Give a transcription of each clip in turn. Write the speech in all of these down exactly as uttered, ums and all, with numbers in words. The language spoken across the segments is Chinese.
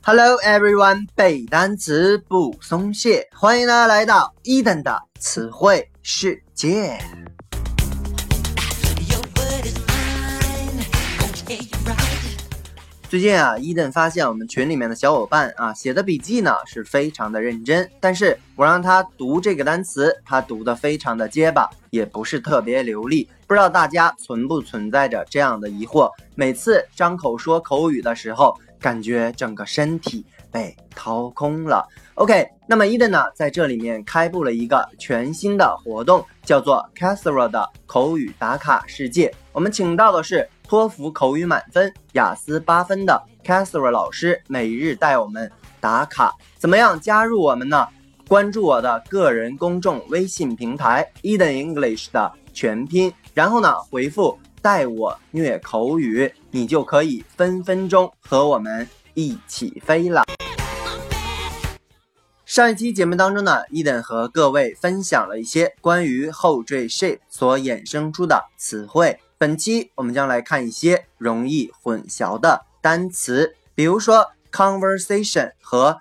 Hello everyone， 背单词不松懈，欢迎大家来到伊登的词汇世界。最近啊，伊登发现我们群里面的小伙伴啊写的笔记呢是非常的认真，但是我让他读这个单词，他读得非常的结巴，也不是特别流利。不知道大家存不存在着这样的疑惑？每次张口说口语的时候，感觉整个身体被掏空了。OK， 那么伊登呢在这里面开布了一个全新的活动，叫做 Kasra 的口语打卡世界。我们请到的是托福口语满分、雅思八分的 Kasra 老师，每日带我们打卡。怎么样加入我们呢？关注我的个人公众微信平台 Eden English 的全拼，然后呢回复带我虐口语，你就可以分分钟和我们一起飞了。上一期节目当中呢，伊登和各位分享了一些关于后缀 shape 所衍生出的词汇。本期我们将来看一些容易混淆的单词，比如说 conversation 和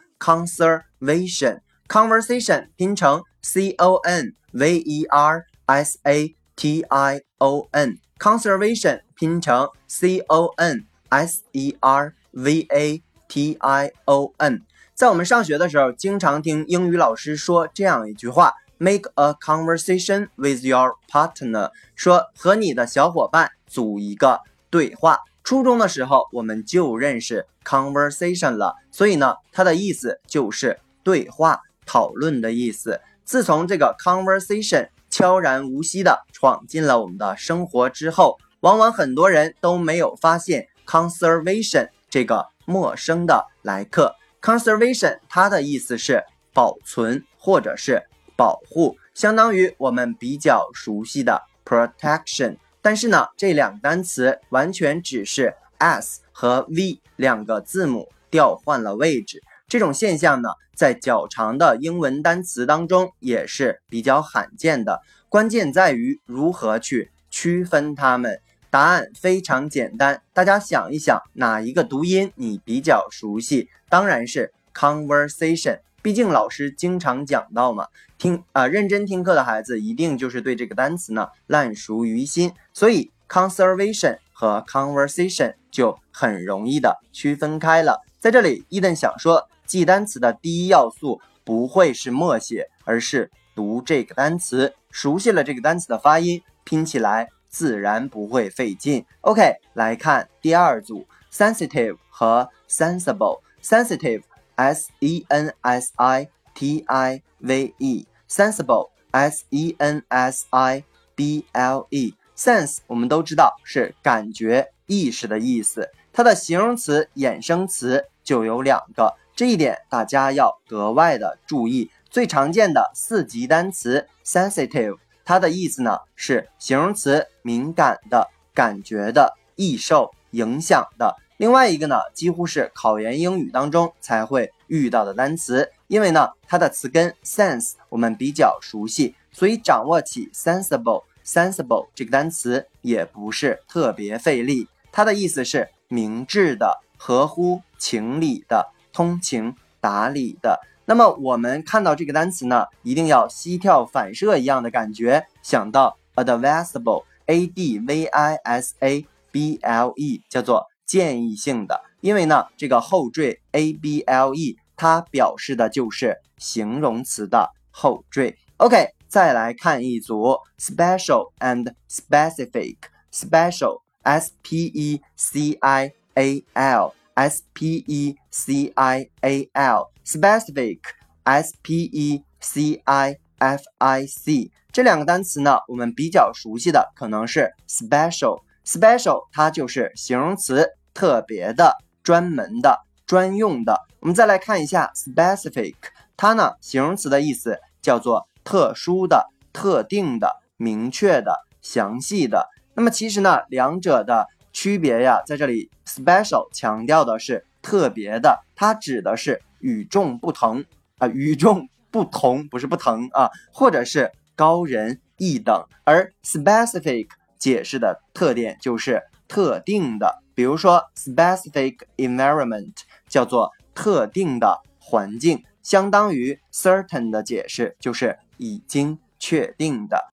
conservation。conversation 拼成 C O N V E R S A T I O N， conservation 拼成 C O N S E R V A T I O N。 在我们上学的时候，经常听英语老师说这样一句话， Make a conversation with your partner， 说和你的小伙伴组一个对话。初中的时候我们就认识 conversation 了，所以呢它的意思就是对话讨论的意思。自从这个 conversation 悄然无息地闯进了我们的生活之后，往往很多人都没有发现 conservation 这个陌生的来客。 conservation 它的意思是保存或者是保护，相当于我们比较熟悉的 protection。 但是呢这两个单词完全只是 S 和 V 两个字母调换了位置，这种现象呢在较长的英文单词当中也是比较罕见的，关键在于如何去区分它们。答案非常简单，大家想一想哪一个读音你比较熟悉？当然是 conversation， 毕竟老师经常讲到嘛，听啊、呃、认真听课的孩子一定就是对这个单词呢烂熟于心，所以 conservation 和 conversation 就很容易的区分开了。在这里伊登想说，记单词的第一要素不会是默写，而是读这个单词，熟悉了这个单词的发音，拼起来自然不会费劲。 OK， 来看第二组 sensitive 和 sensible。 sensitive S E N S I T I V E， sensible S E N S I B L E。 sense 我们都知道是感觉意识的意思，它的形容词衍生词就有两个，这一点大家要格外的注意。最常见的四级单词 sensitive， 它的意思呢是形容词敏感的、感觉的、易受影响的。另外一个呢几乎是考研英语当中才会遇到的单词，因为呢它的词根 sense 我们比较熟悉，所以掌握起 sensible sensible 这个单词也不是特别费力。它的意思是明智的、合乎情理的、通情达理的。那么我们看到这个单词呢，一定要膝跳反射一样的感觉，想到 advisable A D V I S A B L E， 叫做建议性的，因为呢这个后缀 A B L E 它表示的就是形容词的后缀。 OK， 再来看一组 special and specific。 special S P E C I A L S P E C I A L specific S P E C I F I C。 这两个单词呢我们比较熟悉的可能是 special special 它就是形容词，特别的、专门的、专用的。我们再来看一下 specific， 它呢形容词的意思叫做特殊的、特定的、明确的、详细的。那么其实呢两者的区别呀，在这里 special 强调的是特别的，它指的是与众不同啊、呃，与众不同不是不同啊，或者是高人一等。而 specific 解释的特点就是特定的，比如说 specific environment 叫做特定的环境，相当于 certain 的解释就是已经确定的。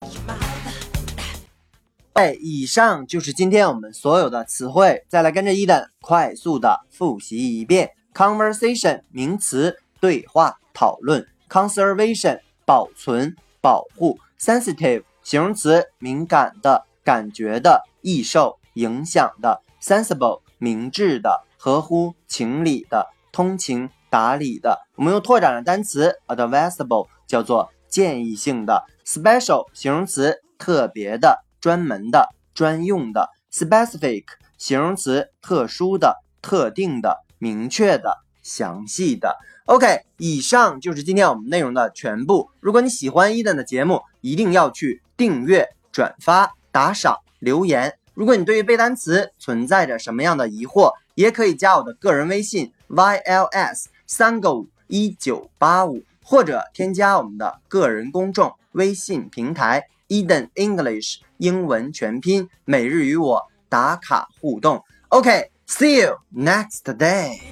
哎，以上就是今天我们所有的词汇，再来跟着Eden快速的复习一遍。Conversation 名词，对话讨论。Conservation 保存保护。Sensitive 形容词，敏感的感觉的易受影响的。Sensible 明智的合乎情理的通情达理的。我们用拓展的单词 advisable 叫做建议性的。Special 形容词，特别的专门的专用的。Specific 形容词，特殊的特定的明确的详细的。 OK， 以上就是今天我们内容的全部。如果你喜欢Eden的节目，一定要去订阅转发打赏留言。如果你对于背单词存在着什么样的疑惑，也可以加我的个人微信 Y L S 三个五一九八五，或者添加我们的个人公众微信平台 Eden English 英文全拼，每日与我打卡互动。OK，see you next day。